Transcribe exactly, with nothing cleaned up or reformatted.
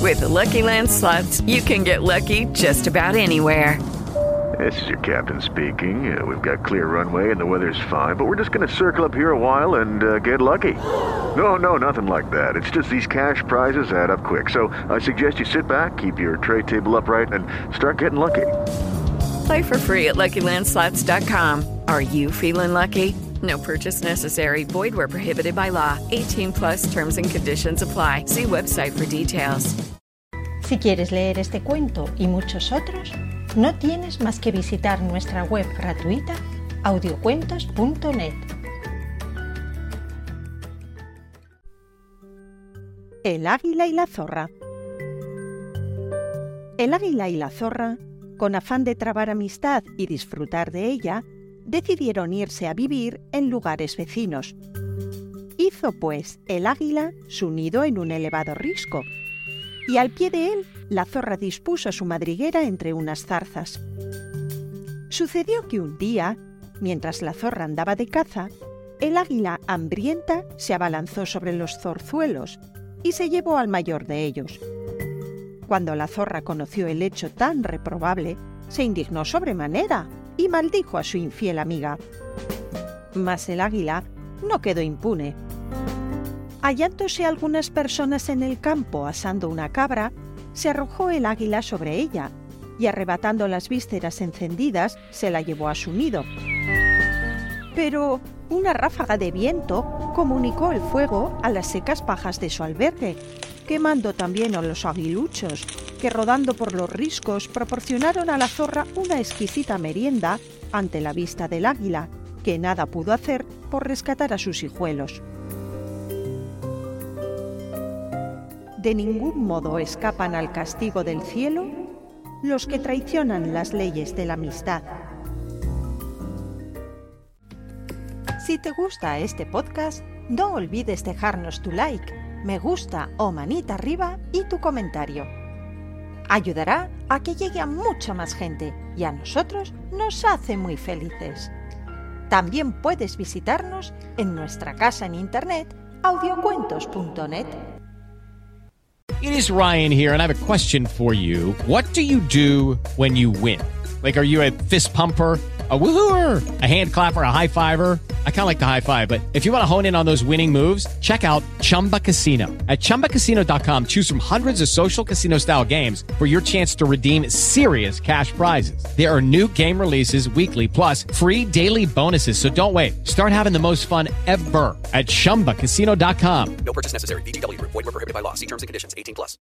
With the Lucky Land Slots, you can get lucky just about anywhere. This is your captain speaking. Uh, we've got clear runway and the weather's fine, but we're just going to circle up here a while and uh, get lucky. No, no, nothing like that. It's just these cash prizes add up quick. So I suggest you sit back, keep your tray table upright, and start getting lucky. Play for free at Lucky Land Slots dot com. Are you feeling lucky? No purchase necessary. Void where prohibited by law. eighteen plus terms and conditions apply. See website for details. Si quieres leer este cuento y muchos otros, no tienes más que visitar nuestra web gratuita audiocuentos punto net. El águila y la zorra. El águila y la zorra, con afán de trabar amistad y disfrutar de ella, decidieron irse a vivir en lugares vecinos. Hizo, pues, el águila su nido en un elevado risco, y al pie de él la zorra dispuso su madriguera entre unas zarzas. Sucedió que un día, mientras la zorra andaba de caza, el águila hambrienta se abalanzó sobre los zorzuelos y se llevó al mayor de ellos. Cuando la zorra conoció el hecho tan reprobable, se indignó sobremanera y maldijo a su infiel amiga. Mas el águila no quedó impune. Hallándose algunas personas en el campo asando una cabra, se arrojó el águila sobre ella y, arrebatando las vísceras encendidas, se la llevó a su nido. Pero una ráfaga de viento comunicó el fuego a las secas pajas de su albergue, quemando también a los aguiluchos, que rodando por los riscos proporcionaron a la zorra una exquisita merienda ante la vista del águila, que nada pudo hacer por rescatar a sus hijuelos. De ningún modo escapan al castigo del cielo los que traicionan las leyes de la amistad. Si te gusta este podcast, no olvides dejarnos tu like, me gusta o manita arriba y tu comentario. Ayudará a que llegue a mucha más gente y a nosotros nos hace muy felices. También puedes visitarnos en nuestra casa en internet audiocuentos punto net. It is Ryan here, and I have a question for you. What do you do when you win? Like, are you a fist pumper, a woohooer, a hand clapper, a high fiver? I kind of like the high five, but if you want to hone in on those winning moves, check out Chumba Casino. At chumba casino dot com, choose from hundreds of social casino-style games for your chance to redeem serious cash prizes. There are new game releases weekly, plus free daily bonuses, so don't wait. Start having the most fun ever at chumba casino dot com. No purchase necessary. V G W. Void where prohibited by law. See terms and conditions. eighteen plus.